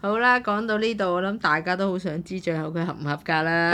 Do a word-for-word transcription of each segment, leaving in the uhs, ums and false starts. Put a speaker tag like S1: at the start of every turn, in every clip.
S1: 好啦，講到呢度，我諗大家都好想知最後佢合唔合格啦。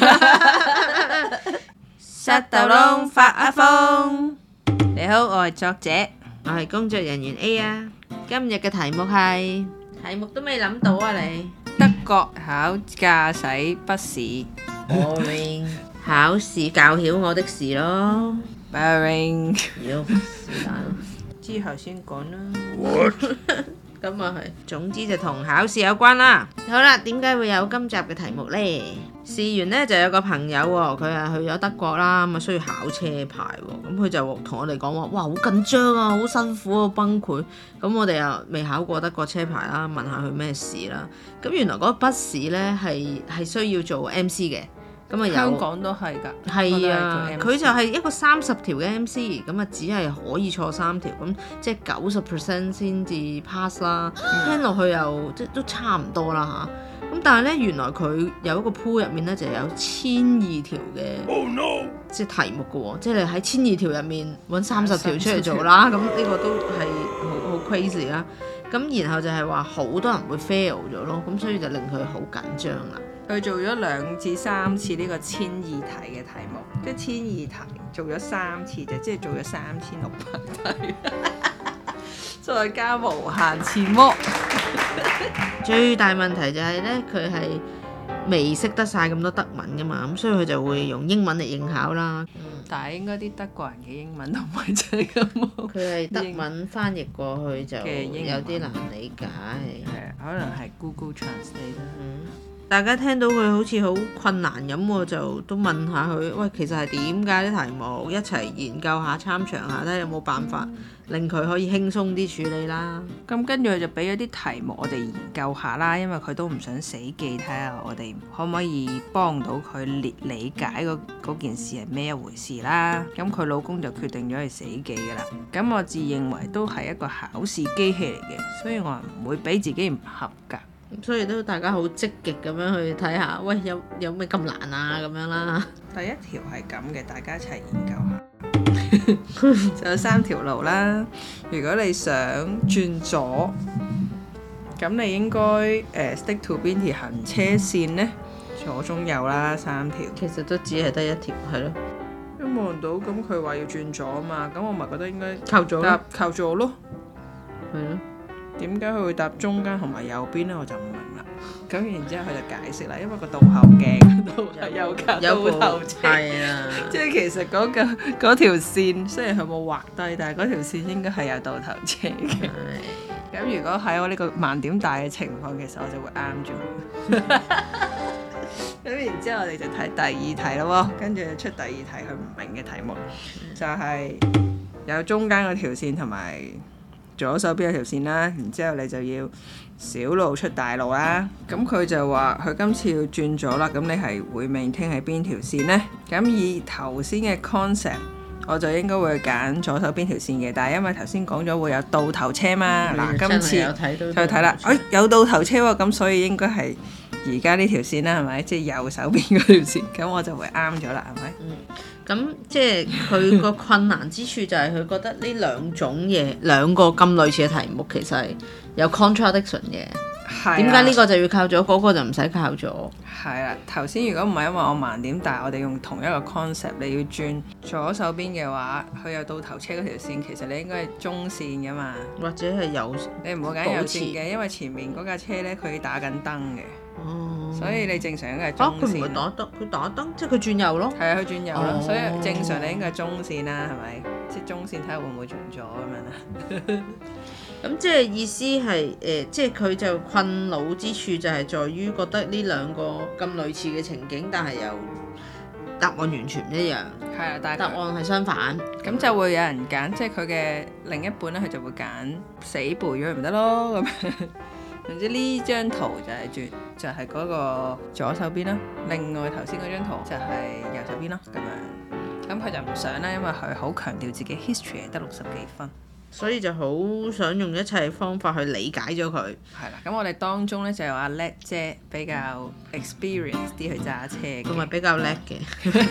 S2: 塞豆窿發阿瘋，你好，我係作者，
S1: 我係工作人員 A 啊。今日嘅題目係，題目都未諗到啊你。
S2: 德國考駕駛筆試
S1: Boring 考試教曉我的事咯。
S2: ，boring，
S1: 妖是但咯，
S2: 之後先講啦。
S1: 咁啊係，總之就同考試有關啦。好啦，點解會有今集嘅題目呢？事緣呢就有個朋友喎，佢係去咗德國啦，咁啊需要考車牌喎，咁佢就同我哋講話，哇好緊張啊，好辛苦啊，崩潰。咁我哋又未考過德國車牌啦，問下佢咩事啦。咁原來嗰個筆試呢係係需要做 M C 嘅。咁啊有
S2: 香港都係㗎，
S1: 係啊，佢就係一個三十條嘅 M C， 咁啊只係可以錯三條，咁即係九十 percent 先至 pass 啦。嗯、聽落去又即都差唔多啦嚇。咁但係咧，原來佢有一個 pool 入面咧就有千二條嘅，oh, no. 即係題目嘅喎，即係你喺千二條入面揾三十條出嚟做啦。咁呢個都係好好 crazy 啦。咁然後就係話好多人會 fail 咗咯，咁所以就令佢好緊張啦。
S2: 佢做咗兩至三次呢個千二題嘅題目，即係千二題做咗三次就即係做咗三千六百題，再加無限次模。
S1: 最大問題就係咧，佢係未識得晒咁多德文噶嘛，咁所以佢就會用英文嚟應考啦。
S2: 嗯、但係應該啲德國人嘅英文都唔係真係咁好。
S1: 佢係德文翻譯過去就有啲難理解。
S2: 係可能係 Google Translate 啦。
S1: 嗯大家聽到佢好似好困難咁，我就都問下佢，喂，其實係點解啲題目一齊研究下、參詳下，睇下有冇辦法令佢可以輕鬆啲處理啦。
S2: 咁跟住佢就俾咗啲題目我哋研究下啦，因為佢都唔想死記，睇下我哋可唔可以幫到佢理理解嗰件事係咩一回事啦。咁佢老公就決定咗係死記㗎啦。咁我自認為都係一個考試機器嚟嘅，所以我唔會俾自己唔合格。
S1: 所以都大家好積極咁樣去睇下，喂，有有咩咁難啊咁樣啦。
S2: 第一條係咁嘅，大家一齊研究下。就有三條路啦。如果你想轉左，咁你應該誒、呃、stick to 邊條行車線呢？左中右啦，三條。
S1: 其實都只係得一條，係咯。
S2: 都望到，咁佢話要轉左啊嘛，咁我咪覺得應該
S1: 靠左
S2: 搭靠左咯。
S1: 係咯。
S2: 點解佢會搭中間同埋右邊咧？我就唔明啦。咁然之後佢就解釋啦，因為個倒後鏡度係有架倒頭車，
S1: 係啊，
S2: 即係其實嗰、嗰個嗰條線雖然佢冇畫低，但係嗰條線應該係有倒頭車嘅。咁如果喺我呢個盲點大嘅情況，其實我就會啱咗佢。咁然之後我哋就睇第二題咯，跟住出第二題佢唔明嘅題目，就係、是、有中間嗰條線同埋左手邊有條線啦，然之後你就要小路出大路啦。咁佢就話佢今次要轉咗啦，咁你係會 maintain 喺邊條線呢？咁以頭先嘅 concept，我就應該會揀左手邊條線嘅。但係因為頭先講咗會有倒頭車嘛，嗱、嗯、今次就睇啦，哎有倒頭車喎，咁所以應該係而家呢條線啦，係咪？即係右手邊嗰條線，咁我就會啱咗啦，係咪？
S1: 嗯咁即係佢個困難之處就係佢覺得呢兩種嘢兩個咁類似嘅題目其實係有 contradiction 嘅。點解呢個就要靠左，嗰、嗰個就唔使靠左？
S2: 係啦，頭先如果唔係因為我盲點，但係我哋用同一個 concept，你要轉左手邊嘅話，佢有倒頭車嗰條線，其實你應該係中線噶嘛，
S1: 或者係右，
S2: 你唔好揀右線嘅，因為前面嗰架車咧佢打緊燈嘅。哦，所以你正常應該係中線。
S1: 佢唔係打燈，佢打燈，即係佢轉右咯。
S2: 係啊，佢轉右咯，
S1: 哦、
S2: 所以正常你應該係中線啦，係咪？即係中線睇下會唔會轉左咁樣啦。
S1: 咁即係意思係誒、呃，即係佢就困擾之處就係在於覺得呢兩個咁類似嘅情景，但係又答案完全唔一樣。
S2: 係啊，但係
S1: 答案係相反，
S2: 咁就會有人揀，即係佢嘅另一半咧，佢就會揀死背咗唔得咯咁。總之呢張圖就係轉就係、是、嗰個左手邊啦，另外頭先嗰張圖就係右手邊咯咁樣。咁佢就唔想啦，因為佢好強調自己 history 係得六十幾分，
S1: 所以就好想用一切方法去理解咗佢。
S2: 係啦，咁我哋當中咧就有阿叻姐比較 experience 啲去揸車嘅，
S1: 同埋比較叻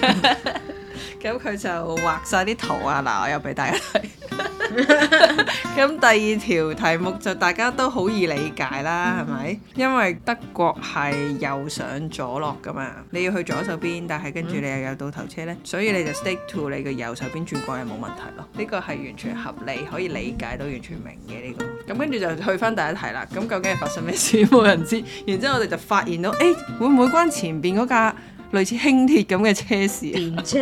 S1: 嘅。
S2: 咁佢就畫晒啲圖啊，嗱我又俾大家睇。 咁第二條題目就大家都好易理解啦，係咪？因為德國係右上左落噶嘛，你要去左手邊，但係跟住你又有倒頭車呢，所以你就 stick to 你嘅右手邊轉過係冇問題咯。呢個係完全合理，可以理解到，完全明嘅呢個。咁跟住就去翻第一題啦。咁究竟係發生咩事？冇人知。然之後我哋就發現到，誒、欸、會唔會關前邊嗰架類似輕鐵咁嘅車事？
S1: 電車，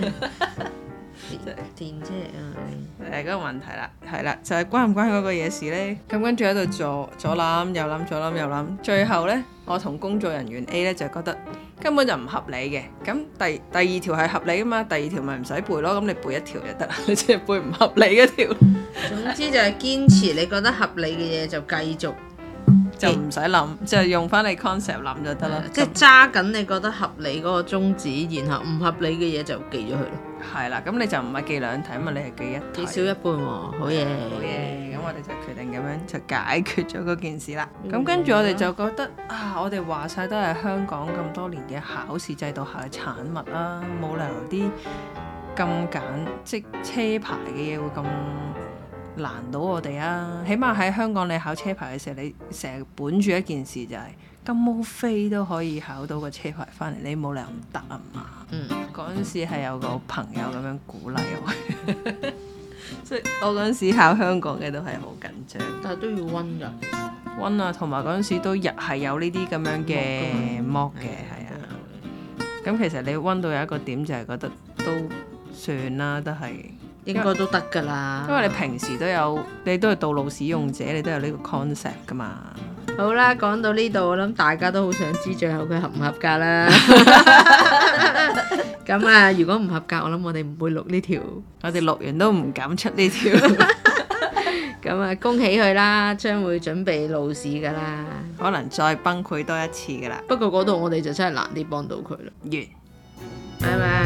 S1: 電車啊！
S2: 誒嗰個問題啦，係啦，就係、是、關唔關嗰個嘢事呢？咁跟住喺度左左諗右諗左諗右諗，最後呢，我同工作人員 A 呢就覺得根本就唔合理嘅。咁第第二條係合理噶嘛，第二條咪唔使背咯。咁你背一條就得啦，你淨係背唔合理嗰條。
S1: 總之就係堅持你覺得合理嘅嘢就繼續。
S2: 就唔使諗，就用翻你 concept 諗就得啦。
S1: 即係揸緊你覺得合理嗰個宗旨，然後唔合理嘅嘢就記咗佢咯。
S2: 係啦，咁你就唔係記兩題啊嘛，你係記一題。
S1: 記少一半喎，好嘢。
S2: 好嘢，咁我哋就決定咁樣就解決咗嗰件事啦。咁、嗯、跟住我哋就覺得啊，我哋話晒都係香港咁多年嘅考試制度下嘅產物啦，冇理由啲咁簡即車牌嘅嘢會咁難到我哋啊！起碼喺香港你考車牌嘅時候，你成日本住一件事就係、是、金毛飛都可以考到個車牌翻嚟，你冇理由唔得啊嘛！嗯，嗰陣時係有個朋友咁樣鼓勵我，所以我嗰陣時考香港嘅都係好緊張，
S1: 但係都要溫㗎，
S2: 溫啊，同埋嗰陣時都日係有呢啲咁樣嘅 mock 嘅，係啊。咁其實你溫到有一個點就係覺得都算啦，都係。
S1: 應該都得㗎啦，
S2: 因為你平時都有，你都係道路使用者，你都有呢個 concept 㗎嘛。
S1: 好啦，講到呢度，我諗大家都好想知最後佢合唔合格啦。咁啊，如果唔合格，我諗我哋唔會錄呢條，
S2: 我哋錄完都唔敢出呢條。
S1: 咁啊，恭喜佢啦，將會準備路試㗎啦，
S2: 可能再崩潰多一次㗎啦。
S1: 不過嗰度我哋就真係難啲幫到佢啦。
S2: 完，
S1: 拜拜。